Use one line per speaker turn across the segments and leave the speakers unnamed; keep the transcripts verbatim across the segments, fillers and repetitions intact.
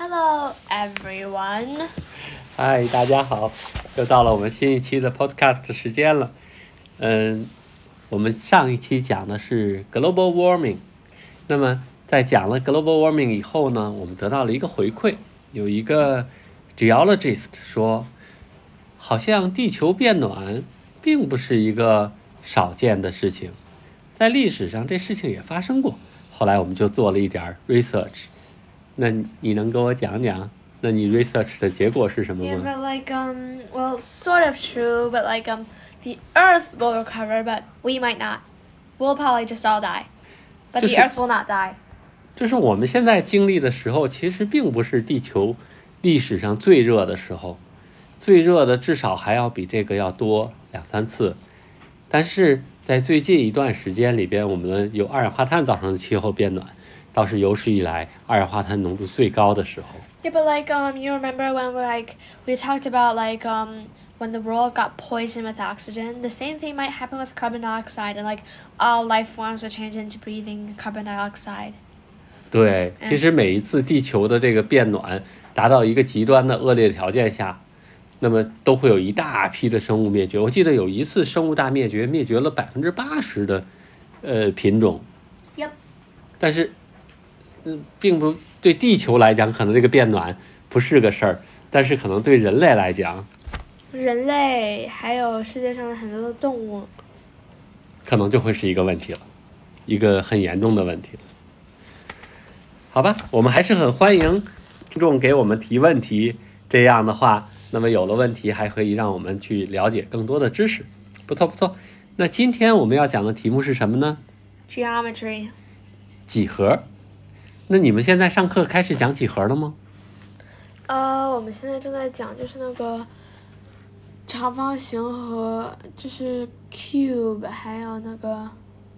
Hello, everyone.
嗨，大家好，又到了我们新一期的 podcast 时间了。嗯，我们上一期讲的是 global warming， 那么在讲了 global warming 以后呢，我们得到了一个回馈，有一个 geologist 说，好像地球变暖并不是一个少见的事情，在历史上这事情也发生过。后来我们就做了一点 research， 那你能跟我讲讲？那你 research 的结果是什么
Yeah,
吗？
but like um, well, sort of true, but like um, the Earth will recover, but we might not. We'll probably just all die, but the
就是
Earth will not die.
就是我们现在经历的时候，其实并不是地球历史上最热的时候，最热的至少还要比这个要多两三次。但是在最近一段时间里边，我们由二氧化碳造成的气候变暖，倒是有史以来二氧化碳浓度最高的时候。
Yeah, but like um, you remember when we like we talked about like um when the world got poisoned with oxygen, the same thing might happen with carbon dioxide, and like all life forms would change into breathing carbon dioxide.
对，其实每一次地球的这个变暖达到一个极端的恶劣条件下，那么都会有一大批的生物灭绝。我记得有一次生物大灭绝，灭绝了百分之八十的呃品种。
Yep.
但是，嗯，并不对地球来讲，可能这个变暖不是个事儿，但是可能对人类来讲，
人类还有世界上的很多的动物，
可能就会是一个问题了，一个很严重的问题了。好吧，我们还是很欢迎听众给我们提问题，这样的话，那么有了问题还可以让我们去了解更多的知识。不错不错，那今天我们要讲的题目是什么呢？
Geometry.
几何。那你们现在上课开始讲几何了吗？
呃，我们现在正在讲就是那个长方形和就是 cube， 还有那个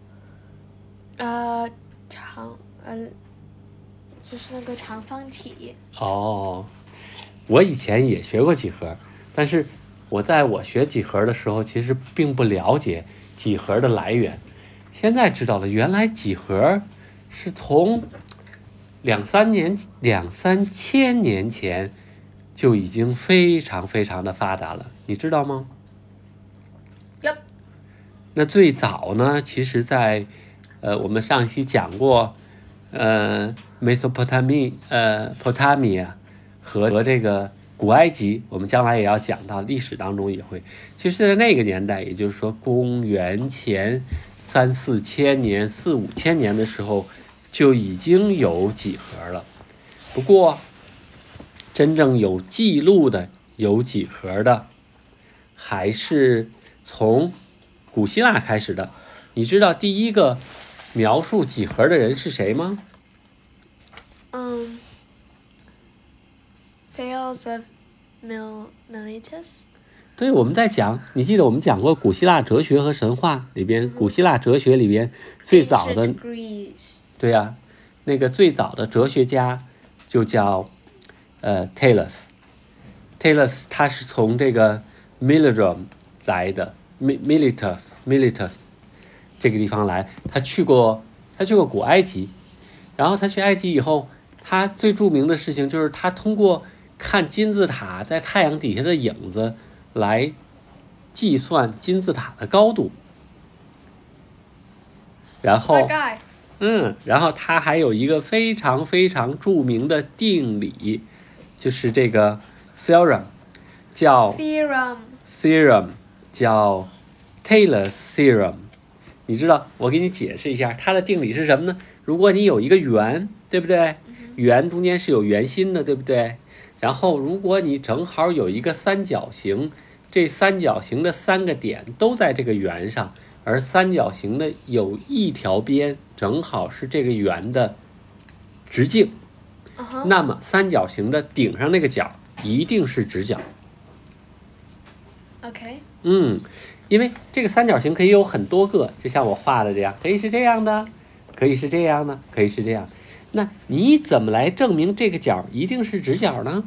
呃长呃就是那个长方体。
哦，我以前也学过几何，但是我在我学几何的时候，其实并不了解几何的来源。现在知道了，原来几何是从两三年、两三千年前就已经非常非常的发达了，你知道吗？
Yep.
那最早呢，其实在呃我们上一期讲过，呃 Mesopotamia 呃 Potamia 和和这个古埃及，我们将来也要讲到，历史当中也会。其实，在那个年代，也就是说公元前三四千年、四五千年的时候，就已经有几何了。不过，真正有记录的有几何的，还是从古希腊开始的。你知道第一个描述几何的人是谁吗？
嗯、um,，Thales of Mil Miletus。
对，我们在讲，你记得我们讲过古希腊哲学和神话里边，古希腊哲学里边最早的，对呀、啊，那个最早的哲学家就叫呃 Thales。Thales 他是从这个 Milidrum 来的 ，Miletus Miletus 这个地方来，他去过他去过古埃及，然后他去埃及以后，他最著名的事情就是他通过看金字塔在太阳底下的影子来计算金字塔的高度，然后，嗯，然后他还有一个非常非常著名的定理，就是这个 theorem， 叫
theorem
theorem 叫 Taylor's theorem。你知道，我给你解释一下，它的定理是什么呢？如果你有一个圆，对不对？圆中间是有圆心的，对不对？然后，如果你正好有一个三角形，这三角形的三个点都在这个圆上，而三角形的有一条边正好是这个圆的直径，
uh-huh.
那么三角形的顶上那个角一定是直角。
OK。
嗯，因为这个三角形可以有很多个，就像我画的这样，可以是这样的，可以是这样的，可以是这样。那你怎么来证明这个角一定是直角呢？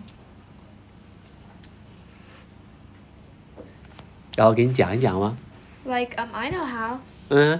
然后给你讲一讲吗？
Like um, I know how.
嗯。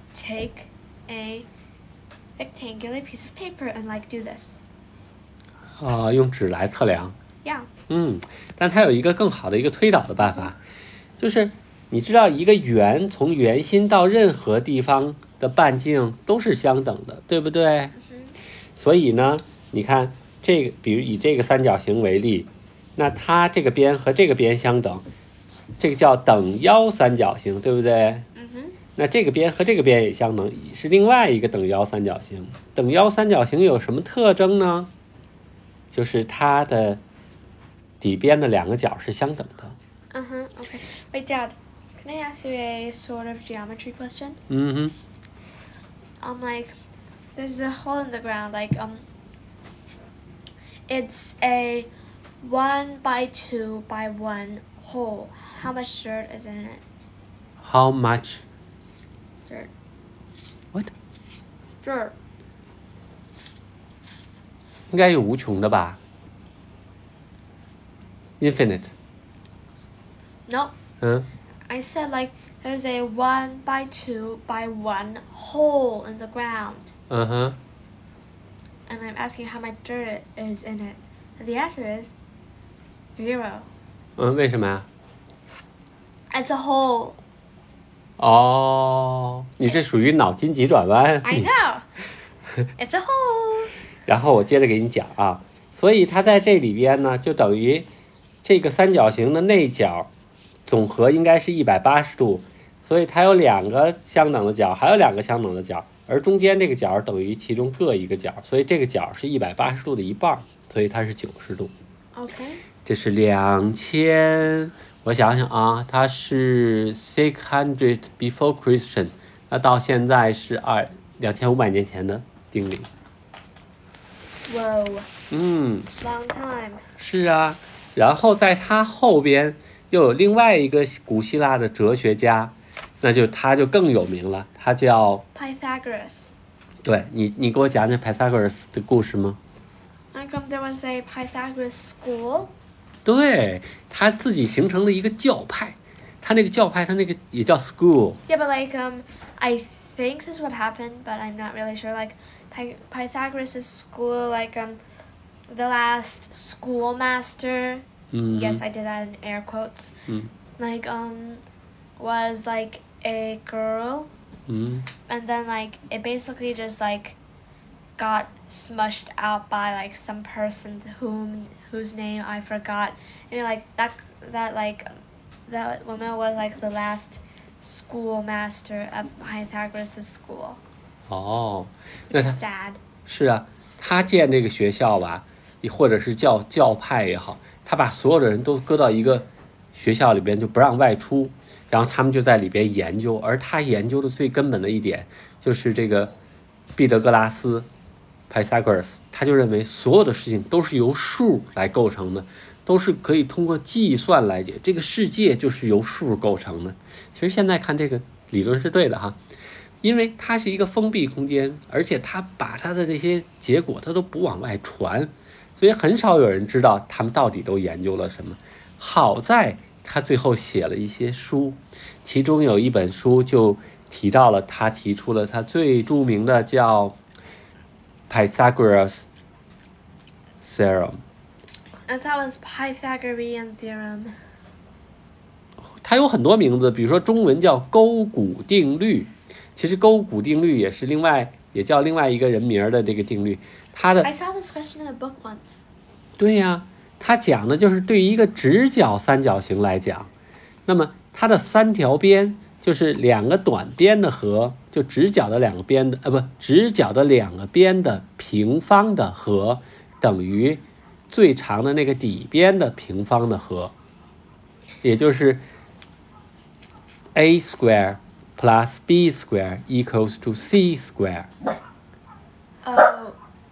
Take a rectangular piece of paper and like do this.
啊、用指来测量。
Yeah.
嗯，但它有一个更好的一个推导的办法，就是你知道一个圆从圆心到任何地方的半径都是相等的，对不对？
嗯哼。
所以呢，你看这个，比如以这个三角形为例，那它这个边和这个边相等，这个叫等腰三角形，对不对？
嗯哼。
那这个边和这个边也相等，是另外一个等腰三角形。等腰三角形有什么特征呢？就是它的底边的两个角是相等的。
Uh huh. Okay. Wait, Dad. Can I ask you a sort of geometry question?
嗯哼。
Um, like, there's a hole in the ground. Like, um, it's a one by two by one hole. How much dirt is in it?
How much?
Dirt.
What?
Dirt.
应该有无穷的吧 ？Infinite.
No.
嗯。
I said like there's a one by two by one hole in the ground.
嗯哼。
And I'm asking how much dirt is in it. And the answer is zero.
嗯，为什么呀？
It's a hole.
哦，你这属于脑筋急转弯。
I know. It's a hole.
然后我接着给你讲啊，所以它在这里边呢，就等于这个三角形的内角总和应该是一百八十度，所以它有两个相等的角，还有两个相等的角，而中间这个角等于其中各一个角，所以这个角是一百八十度的一半，所以它是九十度。
Okay.
这是两千，我想想啊，它是 six hundred before Christian， 那到现在是二两千五百年前的定理。
Whoa.
嗯。
Long time.
是啊，然后在它后边又有另外一个古希腊的哲学家，那就他就更有名了，他叫
Pythagoras.
对你，你给我讲讲 Pythagoras 的故事吗？
How come there was a Pythagoras school?
对，他自己形成了一个教派，他那个教派，他那个也叫 school。
Yeah, but like um, I think this is what happened, but I'm not really sure. Like Py- Pythagoras' school, like um, the last schoolmaster.
Mm-hmm.
Yes, I did that in air quotes.
Mm.
Like um, was like a girl,
Mm.
and then like it basically just like got smushed out by like some person whom whose name I forgot. I mean like that that like that woman was like the last schoolmaster of Pythagoras' school.
哦，
Which
那
is
他
sad.
是啊，他建这个学校吧，或者是教教派也好，他把所有的人都搁到一个学校里边，就不让外出，然后他们就在里边研究。而他研究的最根本的一点，就是这个毕得哥拉斯 Pythagoras， 他就认为所有的事情都是由数来构成的，都是可以通过计算来解。这个世界就是由数构成的。其实现在看这个理论是对的哈。因为它是一个封闭空间，而且它把它的这些结果它都不往外传，所以很少有人知道他们到底都研究了什么。好在他最后写了一些书，其中有一本书就提到了他提出了他最著名的叫 Pythagoras Theorem。
I thought it was Pythagorean theorem.
它有很多名字，比如说中文叫勾股定律，其实勾股定律也是另外也叫另外一个人名的这个定律。它的
I saw this question in a book once.
对呀，它讲的就是对于一个直角三角形来讲，那么它的三条边就是两个短边的和，就直角的两个边的呃不直角的两个边的平方的和等于最长的那个底边的平方的和，也就是 a square plus b square equals to c square。
Oh,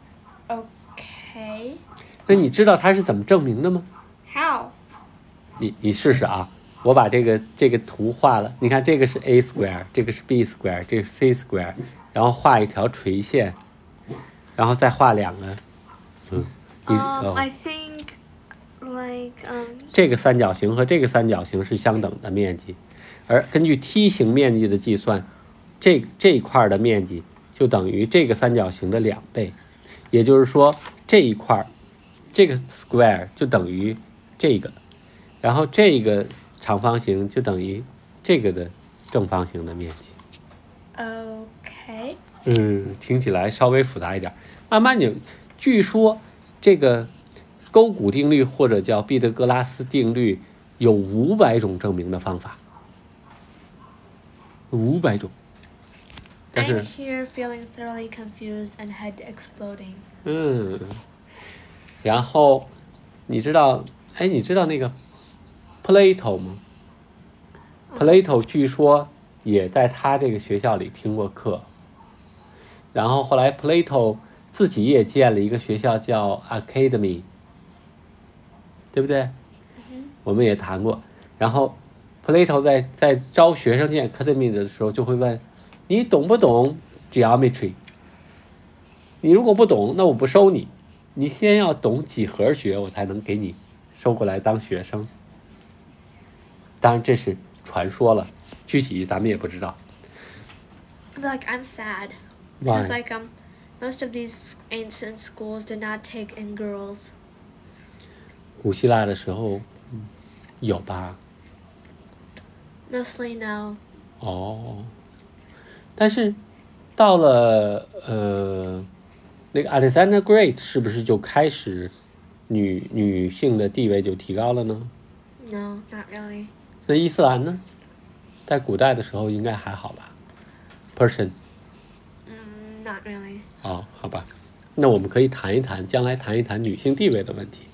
okay.
那你知道它是怎么证明的吗？
How?
你你试试啊，我把这个这个图画了，你看这个是 a square， 这个是 b square， 这个是 c square， 然后画一条垂线，然后再画两个，嗯，你
Um,
哦，
I think like um.
这个三角形和这个三角形是相等的面积，而根据梯形面积的计算，这这一块的面积就等于这个三角形的两倍，也就是说这一块这个 square 就等于这个，然后这个长方形就等于这个的正方形的面积。
OK。
嗯，听起来稍微复杂一点。慢慢你，据说这个勾股定律或者叫毕达哥拉斯定律有五百种证明的方法，五百种。但是
I'm here feeling thoroughly confused and head exploding.
嗯，然后你知道，哎，你知道那个 Plato 吗？ Plato 据说也在他这个学校里听过课，然后后来 Plato 自己也建了一个学校叫 Academy， 对不对？
嗯、
我们也谈过。然后 Plato 在在招学生进 Academy 的时候就会问，你懂不懂 geometry？ 你如果不懂，那我不收你。你先要懂几何学，我才能给你收过来当学生。当然这是传说了，具体咱们也不知道。
Like I'm sad
Why?
because like um most of these ancient schools did not take in girls.
古希腊的时候，嗯、有吧？
Mostly no.
哦，但是到了呃那个 Alexander Great 是不是就开始女女性的地位就提高了呢？
No, not really.
那伊斯兰呢？在古代的时候应该还好吧 ？Persian。
Mm, not really.
哦，好吧，那我们可以谈一谈，将来谈一谈女性地位的问题。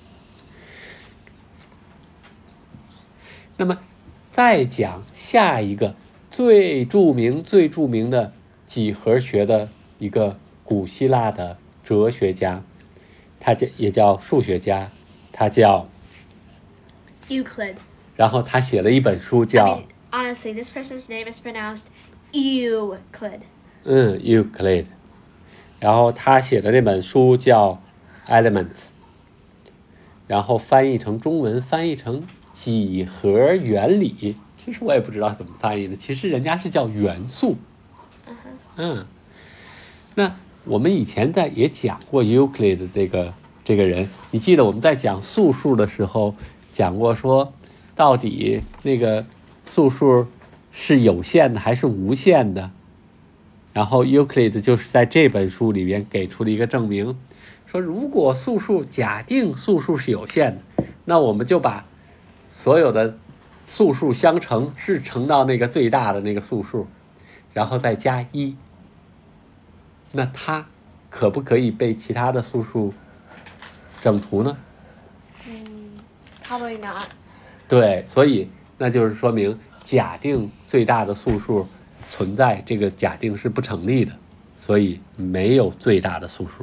那么，再讲下一个最著名、最著名的几何学的一个古希腊的哲学家，他叫也叫数学家，他叫
Euclid.
然后他写了一本书
I
叫
mean, honestly, this person's name is pronounced Euclid.
嗯 Euclid， 然后他写的那本书叫 Elements， 然后翻译成中文翻译成几何原理，其实我也不知道怎么翻译的，其实人家是叫元素。嗯，那我们以前在也讲过 Euclid 的这个这个人，你记得我们在讲素数的时候讲过说，到底那个素数是有限的还是无限的？然后 Euclid 就是在这本书里边给出了一个证明，说如果素数假定素数是有限的，那我们就把所有的素数相乘是乘到那个最大的那个素数，然后再加一，那它可不可以被其他的素数整除呢？
Mm, probably not.
对，所以那就是说明假定最大的素数存在，这个假定是不成立的，所以没有最大的素数。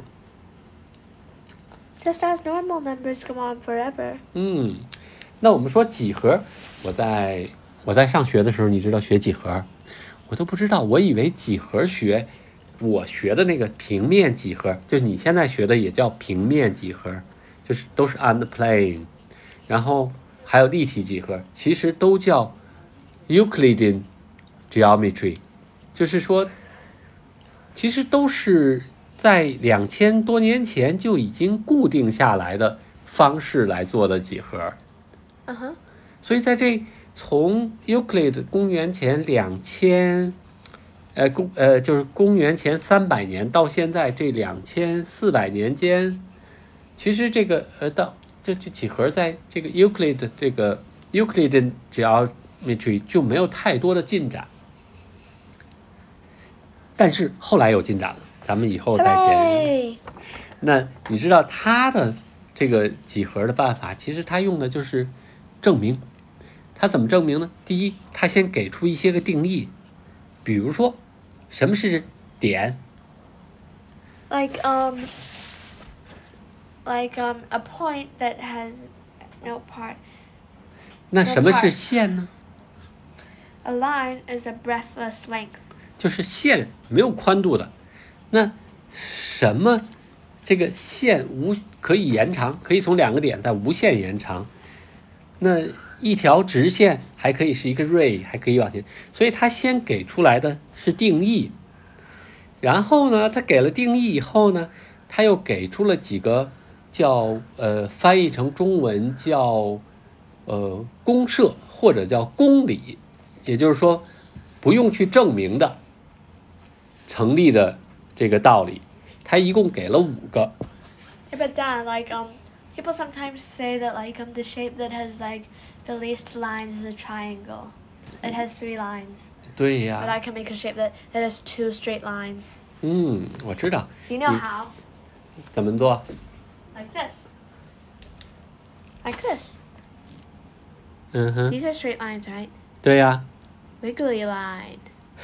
Just as normal numbers go on forever.
嗯，那我们说几何，我在我在上学的时候，你知道学几何，我都不知道，我以为几何学，我学的那个平面几何，就你现在学的也叫平面几何，就是都是 on the plane， 然后还有立体几何，其实都叫 Euclidean geometry， 就是说，其实都是在两千多年前就已经固定下来的方式来做的几何。
Uh-huh.
所以在这从 Euclid 公元前两千，呃公呃就是公元前三百年到现在这两千四百年间，其实这个呃到这这几何在这个 Euclid 这个 Euclidean geometry 就没有太多的进展，但是后来有进展了，咱们以后再讲。
Hooray!
那你知道他的这个几何的办法，其实他用的就是证明。他怎么证明呢？第一，他先给出一些个定义，比如说什么是点，
Like um like um a point that has no part.
那什么是线呢？
A line is a breathless length.
就是线没有宽度的。那什么这个线无可以延长，可以从两个点再无限延长。那一条直线还可以是一个 ray， 还可以往前。所以他先给出来的是定义，然后呢，他给了定义以后呢，他又给出了几个叫呃翻译成中文叫呃公设或者叫公理，也就是说不用去证明的成立的这个道理，他一共给了五个。
Yeah, but Dan, like um, people sometimes say that like um the shape that has like the least lines is a triangle. It has three lines.
对呀。
But I can make a shape that that has two straight lines.
嗯，我知道。
You know how?
怎么做
Like this. Like this.
嗯哼。
These are straight lines, right?
对呀。
Wiggly line.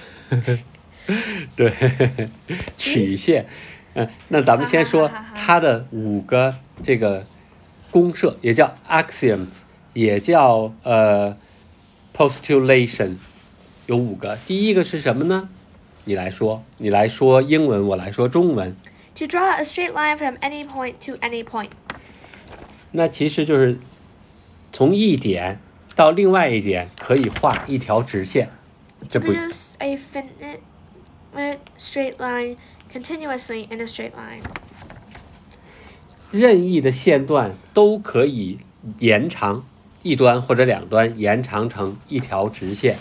对，曲线。嗯，那咱们先说它的五个这个公设，也叫 axioms， 也叫呃 postulation， 有五个。第一个是什么呢？你来说，你来说英文，我来说中文。
To draw a straight line from any point to any point.
那其实就是从一点到另外一点可以画一条直线。这不
Produce a finite straight line continuously in a straight line.
任意的线段都可以延长一端或者两端，延长成一条直线。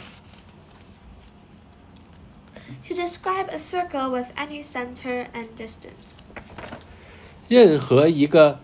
To describe a circle with any center and distance.
任何一个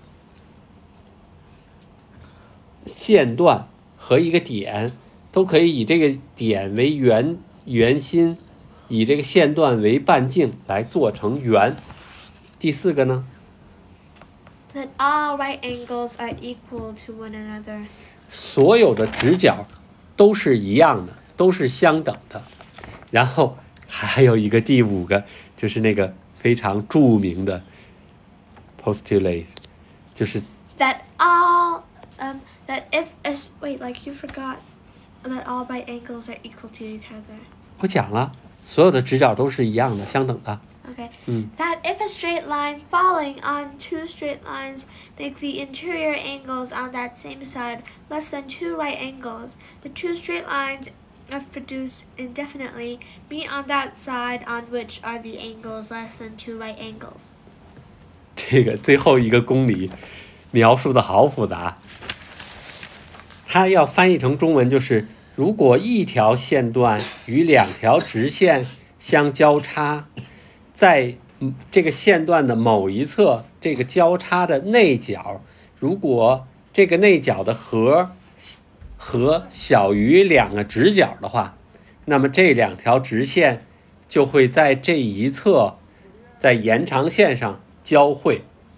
线段和一个点都可以以这个点为圆圆心，以这个线段为半径来做成圆。第四个呢？
That all right angles are equal to one another.
所有的直角都是一样的，都是相等的。然后还有一个第五个，就是那个非常著名的 postulate， 就是
That all um that if as wait like you forgot that all right angles are equal to each other.
我讲了，所有的直角都是一样的，相等的。
Okay.
嗯
That if a straight line falling on two straight lines make the interior angles on that same side less than two right angles, the two straight lines if produced indefinitely meet on that side on which are the angles less than two right angles.
这个最后一个公理描述的好复杂，它要翻译成中文就是：如果一条线段与两条直线相交叉，在这个线段的某一侧，这个交叉的内角，如果这个内角的和和小于两个直角的话，那么这两条直线就会在这一侧，在延长线上交汇。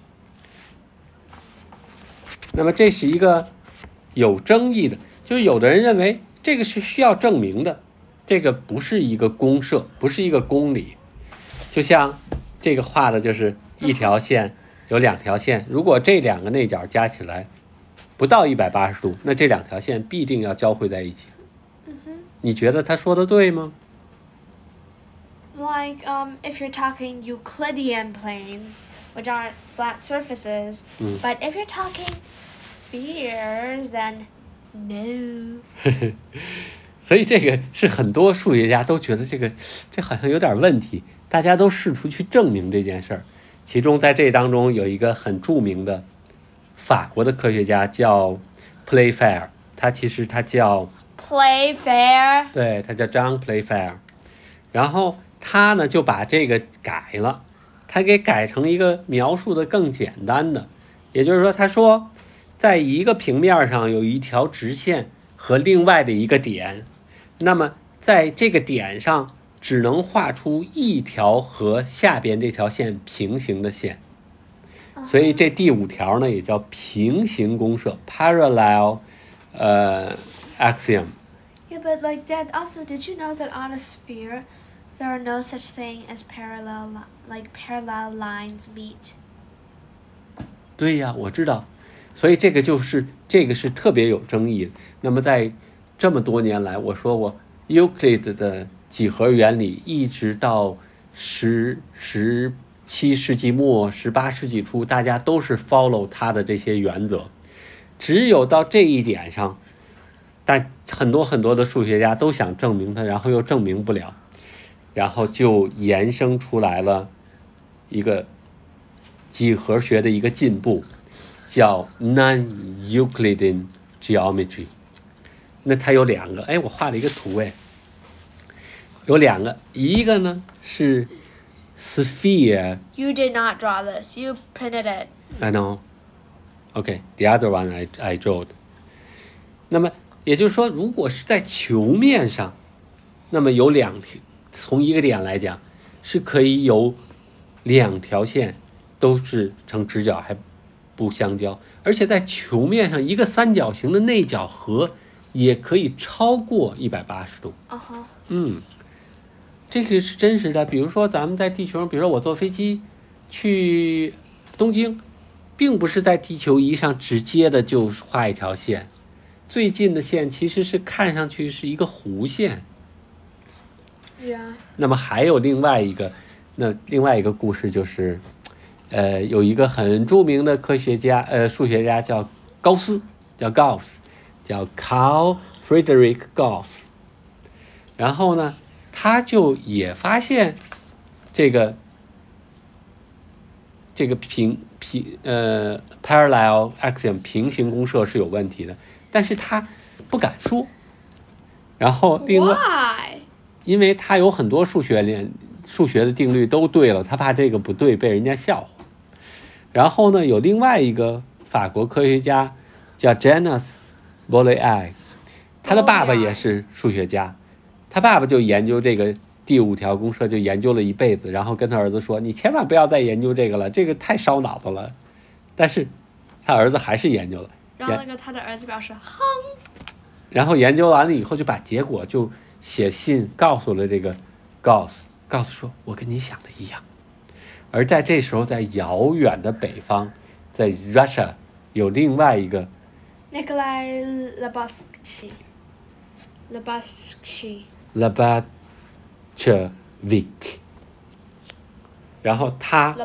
那么这是一个有争议的，就是有的人认为这个是需要证明的，这个不是一个公设，不是一个公理。就像这个画的就是一条线有两条线，如果这两个内角加起来不到一百八十度，那这两条线必定要交汇在一起。你觉得他说的对吗？
Like um if you're talking Euclidean planes, which aren't flat surfaces,
Mm.
but if you're talking spheres, then no.
所以这个是很多数学家都觉得这个这好像有点问题，大家都试图去证明这件事儿。其中在这当中有一个很著名的法国的科学家叫 Playfair， 他其实他叫
Playfair.
对，他叫 John Playfair， 然后他呢就把这个改了，他给改成一个描述的更简单的，也就是说，他说在一个平面上有一条直线和另外的一个点，那么在这个点上只能画出一条和下边这条线平行的线，所以这第五条呢也叫平行公设 parallel 呃 axiom。
Yeah, but like Dad, also, did you know that on a sphere, there are no such thing as parallel, li- like parallel lines meet?
对呀，我知道，所以这个就是这个是特别有争议的。那么在这么多年来，我说过 Euclid 的几何原理一直到十十七世纪末十八世纪初，大家都是 follow 他的这些原则，只有到这一点上，但很多很多的数学家都想证明它，然后又证明不了，然后就衍生出来了一个几何学的一个进步，叫 non-Euclidean geometry。那它有两个，哎，我画了一个图，哎，有两个，一个呢是 sphere。
You did not draw this. You printed it.
I know. Okay, the other one I I drew. 那么也就是说，如果是在球面上，那么有两条，从一个点来讲，是可以有两条线都是成直角还不相交，而且在球面上，一个三角形的内角和也可以超过一百八十度。
Uh huh.
嗯，这个是真实的。比如说咱们在地球上，比如说我坐飞机去东京，并不是在地球仪上直接的就画一条线，最近的线其实是看上去是一个弧线。
Yeah.
那么还有另外一个，那另外一个故事就是，呃，有一个很著名的科学家，呃，数学家叫高斯，叫 Gauss， 叫 Carl Friedrich Gauss。然后呢，他就也发现这个这个平平呃 parallel axiom 平行公设是有问题的，但是他不敢说。然后另外。
Why?
因为他有很多数学连数学的定律都对了，他怕这个不对被人家笑话。然后呢，有另外一个法国科学家叫 Janus Bolyai， 他的爸爸也是数学家，他爸爸就研究这个第五条公设，就研究了一辈子，然后跟他儿子说：“你千万不要再研究这个了，这个太烧脑子了。”但是他儿子还是研究了。
然后那个他的儿子表示哼。
然后研究完了以后，就把结果就写信告诉了这个 Gauss， 告诉说我跟你想的一样。而在这时候，在遥远的北方，在 Russia 有另外一个
Nikolai Lobachevsky Lobachevsky
Lobachevsky， 然后他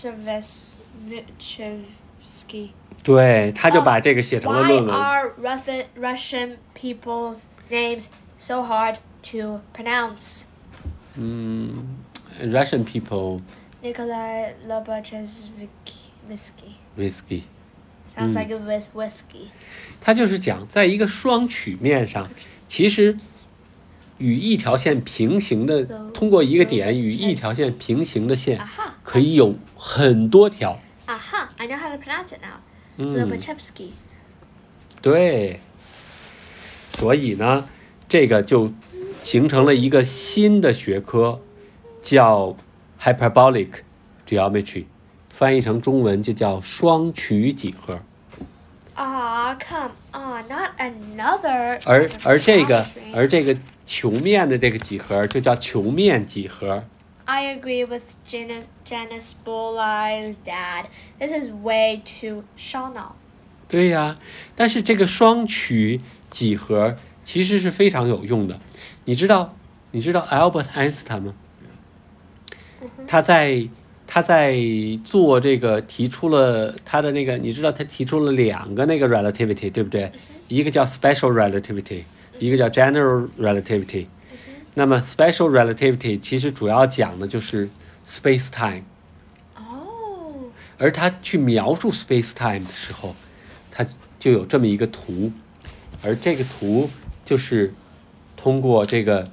Lobachevsky，
对，他就把这个写成了论文。
Why are Russian Russian people's names so hard to pronounce?
嗯 ，Russian people.
Nikolai Lobachevsky.
Whiskey.
Sounds like a with whiskey.
他就是讲，在一个双曲面上，其实与一条线平行的，通过一个点与一条线平行的线，可以有很多条。
Aha! I know how to pronounce it now.
嗯
Lobachevsky.
对，所以呢，这个就形成了一个新的学科，叫 hyperbolic geometry， 翻译成中文就叫双曲几何。
Ah, come on, not another.
而而这个而这个球面的这个几何就叫球面几何。
I agree with Janice, Janice Bolai's dad. This is way too 烧脑。
对呀，但是这个双曲几何其实是非常有用的。你知道你知道 Albert Einstein 吗？他在他在做这个提出了他的那个，你知道他提出了两个那个 relativity， 对不对？一个叫 special relativity， 一个叫 general relativity。那么 special relativity 其实主要讲的就是 space time。
哦。
而他去描述 space time 的时候，他就有这么一个图，而这个图就是通过这个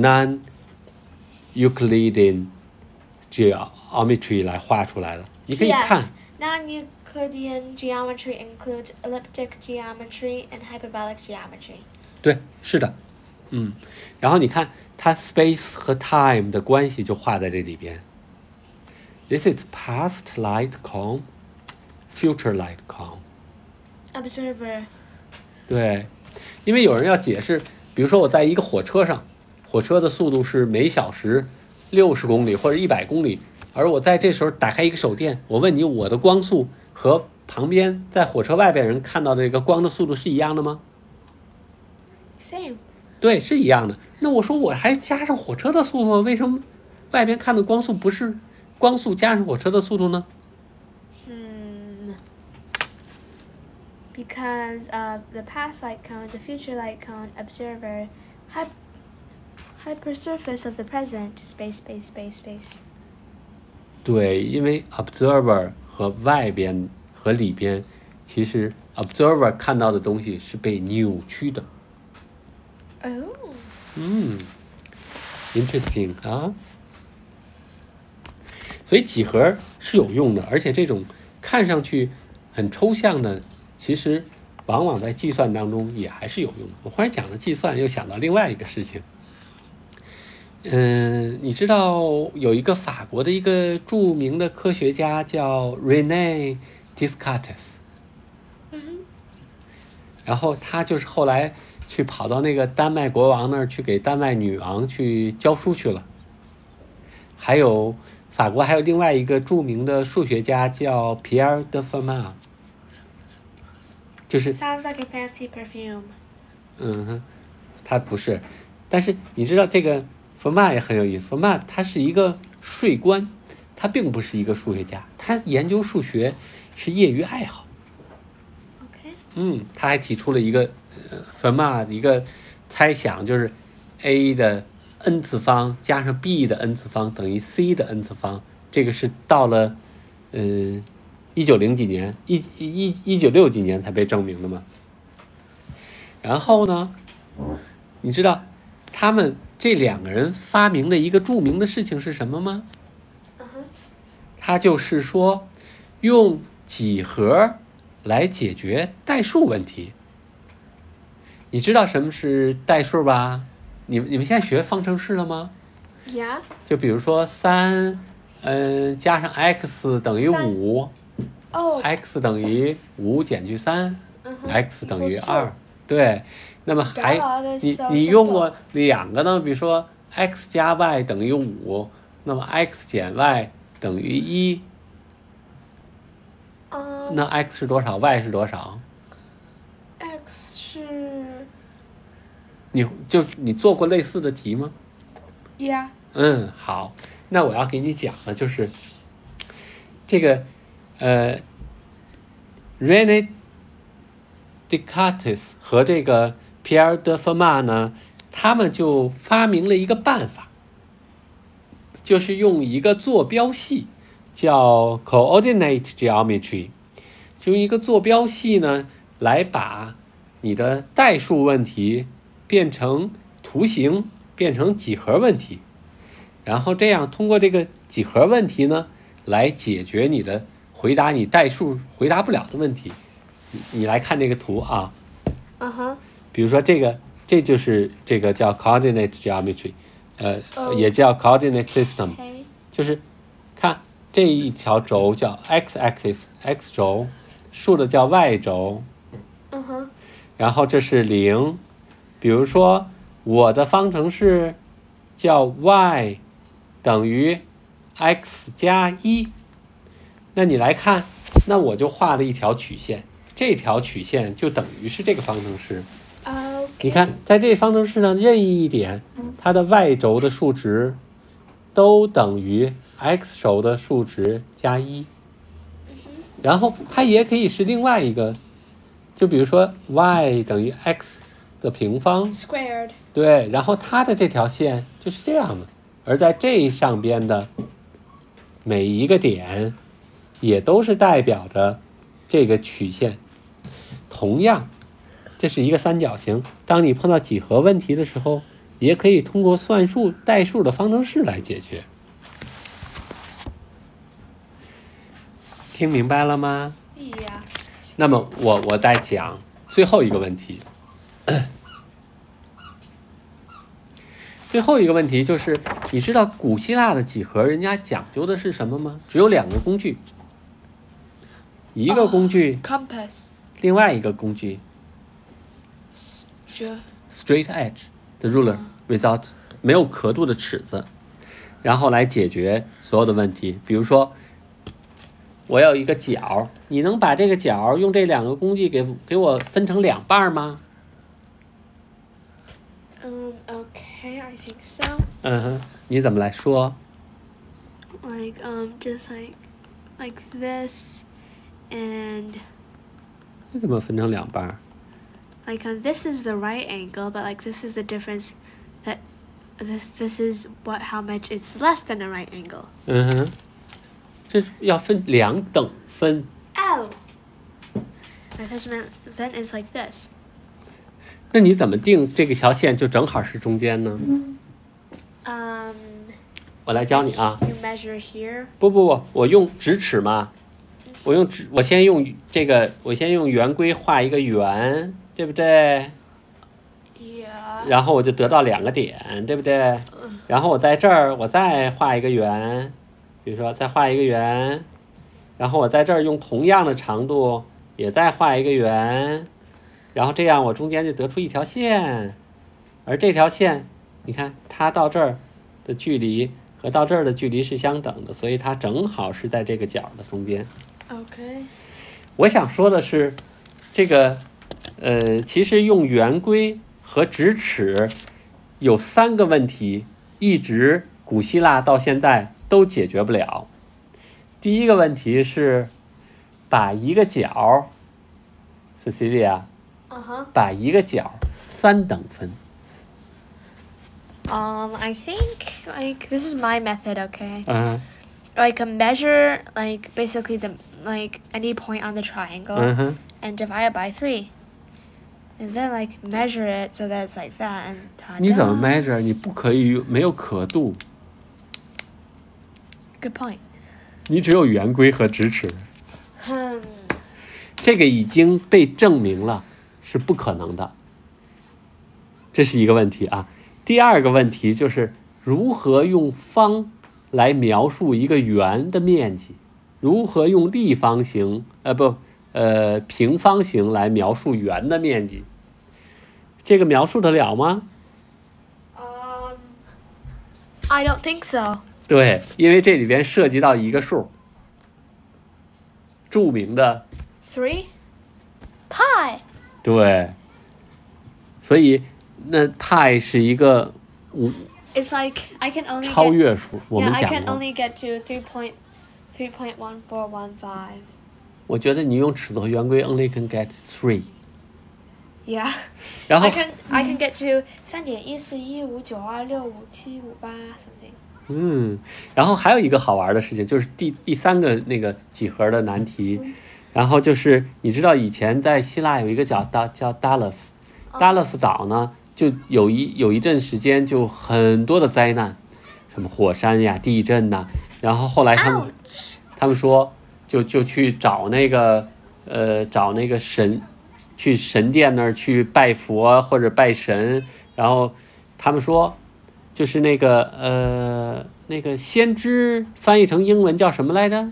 non-Euclidean geometry 来画出来的。你可以看。
Yes, non-Euclidean geometry includes elliptic geometry and hyperbolic geometry.
对，是的，嗯，然后你看它 space 和 time 的关系就画在这里边。This is past light cone, future light cone.
Observer.
对，因为有人要解释，比如说我在一个火车上，火车的速度是每小时六十公里或者一百公里，而我在这时候打开一个手电，我问你，我的光速和旁边在火车外边人看到的这个光的速度是一样的吗？
Same.
对，是一样的。那我说我还加上火车的速度，为什么外边看的光速不是光速加上火车的速度呢？
Hmm. Because of the past light cone, the future light cone, observer, hy- hypersurface of the present, space, space, space, space.
对，因为 observer 和外边和里边，其实 observer 看到的东西是被扭曲的。
哦。
嗯 ，interesting 啊。所以几何是有用的，而且这种看上去很抽象的，其实往往在计算当中也还是有用的。我忽然讲了计算，又想到另外一个事情。嗯，你知道有一个法国的一个著名的科学家叫 René Descartes，
嗯哼。
然后他就是后来去跑到那个丹麦国王那儿去给丹麦女王去教书去了。还有法国还有另外一个著名的数学家叫 Pierre de Fermat， 就是
Sounds like a fancy perfume。
嗯哼，他不是，但是你知道这个 Fermat 也很有意思。Fermat 他是一个税官，他并不是一个数学家，他研究数学是业余爱好。
OK。
嗯，他还提出了一个呃 Fermat 一个猜想，就是 a 的 n 次方加上 b 的 n 次方等于 c 的 n 次方。这个是到了嗯一九零几年，一一一九六几年才被证明的嘛。然后呢，你知道他们这两个人发明的一个著名的事情是什么吗？他就是说用几何来解决代数问题。你知道什么是代数吧？你们你们现在学方程式了吗？
Yeah。
就比如说三，嗯，加上 x 等于五，
哦。
x 等于五减去三、
嗯哼
x 等于
equals two
二。对，那么还
God, that's
你
so
你
simple.
用过两个呢？比如说 x 加 y 等于五，那么 x 减 y 等于一，
嗯。
那 x 是多少 ？y 是多少？
x 是
你就你做过类似的题吗？
Yeah。
嗯，好，那我要给你讲的就是这个呃 René Descartes 和这个 Pierre de Fermat 呢，他们就发明了一个办法，就是用一个坐标系叫 coordinate geometry， 就用一个坐标系呢来把你的代数问题变成图形，变成几何问题，然后这样通过这个几何问题呢来解决你的回答你代数回答不了的问题。你你来看这个图啊，
嗯哼。
比如说这个，这就是这个叫 coordinate geometry， 呃，
Oh.
也叫 coordinate system，
Okay.
就是看这一条轴叫 x-axis x 轴，竖的叫 y 轴，
嗯哼。
然后这是零。比如说我的方程式叫 y 等于 x 加一，那你来看，那我就画了一条曲线，这条曲线就等于是这个方程式。
Okay.
你看，在这方程式上任意一点，它的 y 轴的数值都等于 x 轴的数值加一。然后它也可以是另外一个，就比如说 y 等于 x 的平方
Squared。
对，然后它的这条线就是这样的，而在这上边的每一个点也都是代表着这个曲线。同样，这是一个三角形，当你碰到几何问题的时候，也可以通过算术代数的方程式来解决。听明白了吗？
Yeah。
那么我我再讲最后一个问题。最后一个问题就是，你知道古希腊的几何人家讲究的是什么吗？只有两个工具，一个工具、
oh, compass，
另外一个工具 straight edge 的 ruler without 没有刻度的尺子，然后来解决所有的问题。比如说，我有一个角，你能把这个角用这两个工具给给我分成两半吗？
嗯、um,，Okay, I think so.
嗯哼，你怎么来说
Like um, just like like this, and
你怎么分成两半
like um, this is the right angle, but like this is the difference that this this is what how much it's less than a right angle.
嗯哼，这要分两等分。
Oh. My measurement then is like this.
那你怎么定这个条线就正好是中间呢？
Um,
我来教你啊。
you measure here.
不不不，我用直尺嘛，我用直，我先用这个，我先用圆规画一个圆，对不对？
Yeah.
然后我就得到两个点，对不对？然后我在这儿，我再画一个圆，比如说再画一个圆，然后我在这儿用同样的长度也再画一个圆，然后这样我中间就得出一条线，而这条线，你看它到这儿的距离和到这儿的距离是相等的，所以它正好是在这个角的中间。
Okay.
我想说的是，这个，呃，其实用圆规和直尺有三个问题，一直古希腊到现在都解决不了。第一个问题是，把一个角 ，Cecilia，
Uh-huh.
把一个角三等分。
Um, I think like this is my method, okay?
嗯
Like a measure like basically the like any point on the triangle
嗯哼，
and divide it by three. And then like measure it so that it's like that and ta-da.
你怎么 measure？ 你不可以没有刻度，
Good point.
你只有圆规和直尺。
Hmm.
这个已经被证明了是不可能的，这是一个问题啊。第二个问题就是如何用方来描述一个圆的面积，如何用立方形呃不呃平方形来描述圆的面积，这个描述得了吗？
Um, I don't think so.
对，因为这里边涉及到一个数，著名的
Three? Pi.
对，所以那派是一个无
It's like I can only
超
get
越数，我
yeah,
们
I
讲
can
过。
only get to three point three point one four one five.
我觉得你用尺子和圆规 only can get three，
Yeah.
然后
I can I can get to 三点一四一五九二六五七五八 something.
嗯，然后还有一个好玩的事情，就是第第三个那个几何的难题，然后就是你知道以前在希腊有一个叫叫叫 Delos，Delos 岛呢就有一有一阵时间就很多的灾难，什么火山呀、地震呐，然后后来他们
Ouch.
他们说就就去找那个呃找那个神，去神殿那儿去拜佛或者拜神，然后他们说就是那个呃那个先知翻译成英文叫什么来着？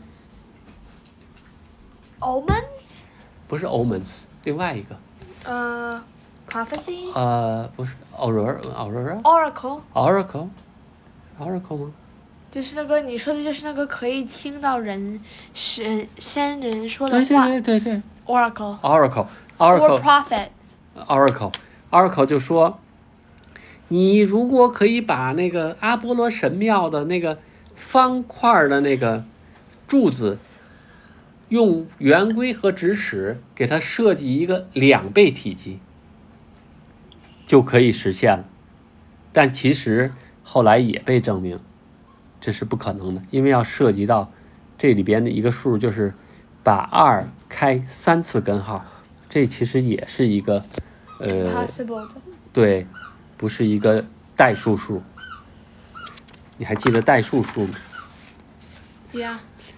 Omens?
不是 omens， 另外一个
Uh, prophecy?
呃不是 aurora aurora
Oracle?
oracle oracle 吗？
就是那个你说的就是那个可以听到人神先人说的
对对
话
对对对
Oracle
oracle
or
oracle
prophet.
oracle oracle 就说，你如果可以把那个阿波罗神庙的那个方块的那个柱子，用圆规和直尺给它设计一个两倍体积，就可以实现了。但其实后来也被证明这是不可能的，因为要涉及到这里边的一个数，就是把二开三次根号，这其实也是一个呃
Possible 的。
对，不是一个代数数。你还记得代数数吗？
Yeah.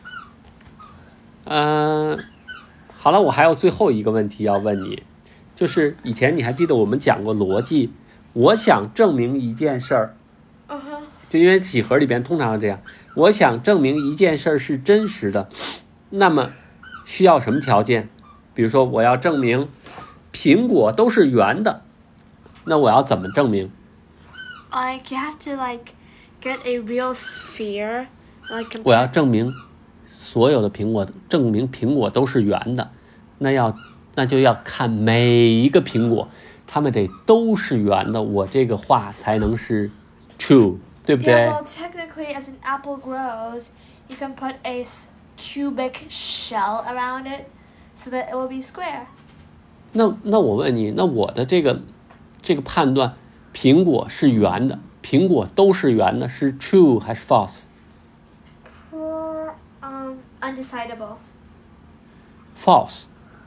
嗯、呃，好了，我还有最后一个问题要问你，就是以前你还记得我们讲过逻辑，我想证明一件事儿，
Uh-huh.
就因为几何里边通常是这样，我想证明一件事儿是真实的，那么需要什么条件？比如说我要证明苹果都是圆的，那我要怎么证明？
Like you have to like get a real sphere, like
我要证明所有的苹果，证明苹果都是圆的，那要那就要看每一个苹果，它们得都是圆的，我这个话才能是 true， 对不对？
Yeah, well, technically, as an apple grows, you can put a s- cubic shell around it, so that it will be square.
那那我问你，那我的这个这个判断，苹果是圆的，苹果都是圆的，是 true 还是 false？
Um, undecidable.
false。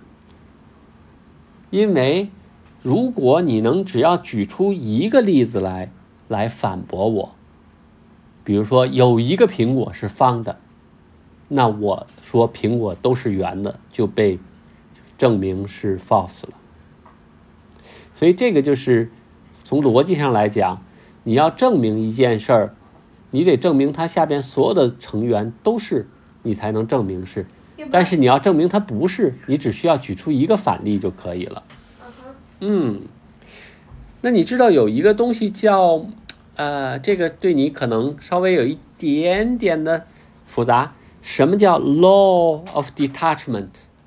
因为如果你能只要举出一个例子来来反驳我，比如说有一个苹果是方的，那我说苹果都是圆的就被证明是 false 了。所以这个就是从逻辑上来讲，你要证明一件事儿，你得证明它下边所有的成员都是，你才能证明是。但是你要证明它不是，你只需要举出一个反例就可以了。嗯，那你知道有一个东西叫，呃，这个对你可能稍微有一点点的复杂。什么叫 law of detachment？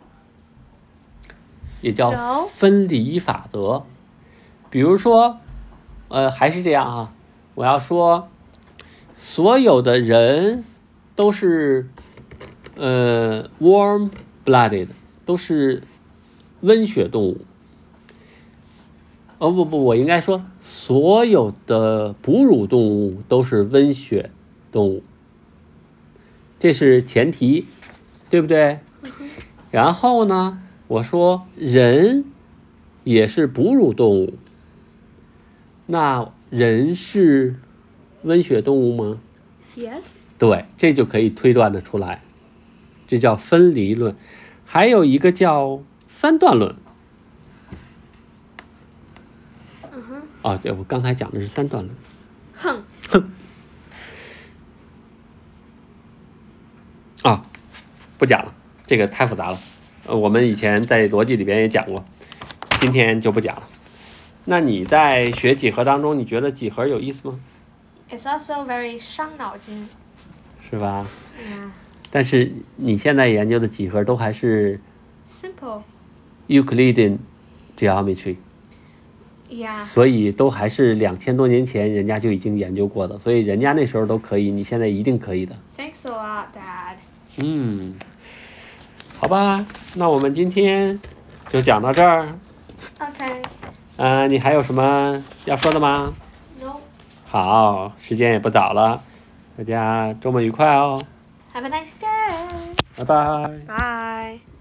也叫分离法则。比如说，呃，还是这样啊，我要说，所有的人都是，呃 ，warm-blooded， 都是温血动物。哦不不，我应该说所有的哺乳动物都是温血动物，这是前提，对不对？然后呢，我说人也是哺乳动物，那人是温血动物吗？
Yes。
对，这就可以推断得出来，这叫分离论。还有一个叫三段论。啊，对，我刚才讲的是三段论。
哼
哼。啊，不讲了，这个太复杂了。呃，我们以前在逻辑里边也讲过，今天就不讲了。那你在学几何当中，你觉得几何有意思吗？
It's also very 伤脑筋。
是吧？
Yeah。
但是你现在研究的几何都还是
simple
Euclidean geometry。
Yeah。
所以都还是两千多年前人家就已经研究过的，所以人家那时候都可以，你现在一定可以的。
Thanks a lot, Dad。
嗯，好吧，那我们今天就讲到这儿。
OK。
呃，你还有什么要说的吗？
No。
好，时间也不早了，大家周末愉快哦。
Have a nice day。
拜拜。
Bye。